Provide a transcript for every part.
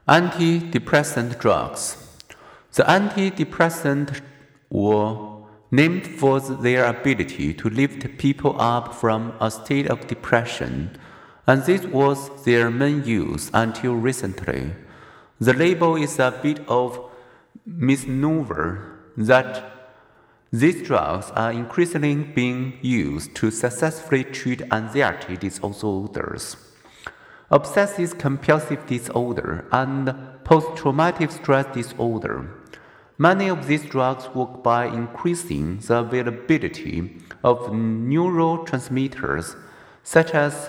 Antidepressant drugs. The antidepressants were named for their ability to lift people up from a state of depression, and this was their main use until recently. The label is a bit of misnomer that these drugs are increasingly being used to successfully treat anxiety disorders, obsessive-compulsive disorder, and post-traumatic stress disorder. Many of these drugs work by increasing the availability of neurotransmitters such as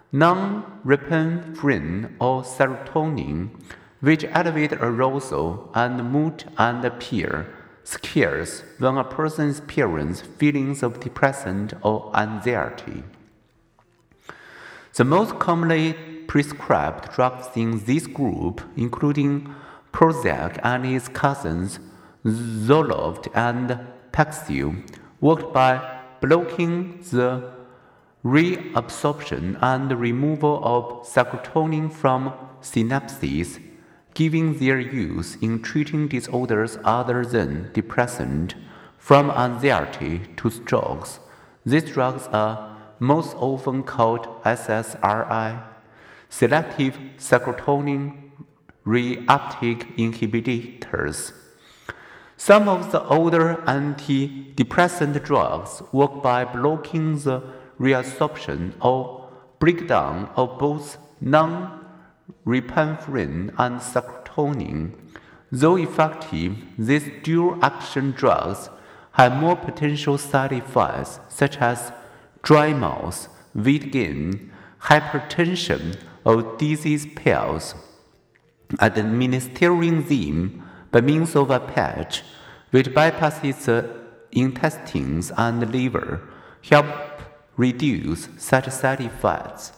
norepinephrine or serotonin, which elevate arousal and mood and appear scarce when a person experiences feelings of depression or anxiety. The most commonly prescribed drugs in this group, including Prozac and its cousins Zoloft and Paxil, work by blocking the reabsorption and removal of serotonin from synapses, giving their use in treating disorders other than depression, from anxiety to strokes. These drugs are most often called SSRI, selective serotonin reuptake inhibitors. Some of the older antidepressant drugs work by blocking the reabsorption or breakdown of both norepinephrine and serotonin. Though effective, these dual-action drugs have more potential side effects such as dry mouth, weight gain, hypertension, or dizzy spells. Administering them by means of a patch, which bypasses the intestines and liver, help reduce such side effects.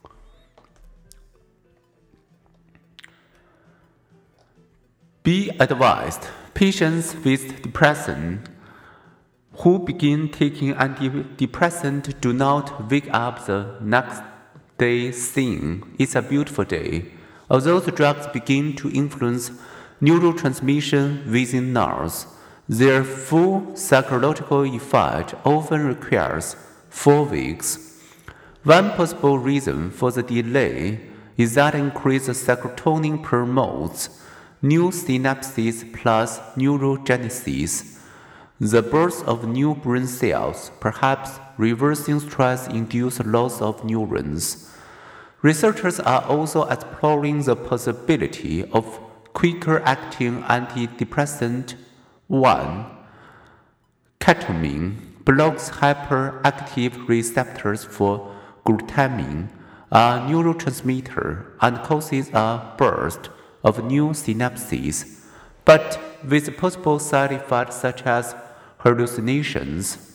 Be advised, patients with depression who begin taking antidepressants do not wake up the next day saying, "It's a beautiful day." Although the drugs begin to influence neurotransmission within nerves, their full psychological effect often requires 4 weeks. One possible reason for the delay is that increased serotonin promotes new synapses plus neurogenesis, the birth of new brain cells, perhaps reversing stress-induced loss of neurons. Researchers are also exploring the possibility of quicker-acting antidepressant. 1. Ketamine blocks hyperactive receptors for glutamine, a neurotransmitter, and causes a burst of new synapses, but with possible side effects such as hallucinations.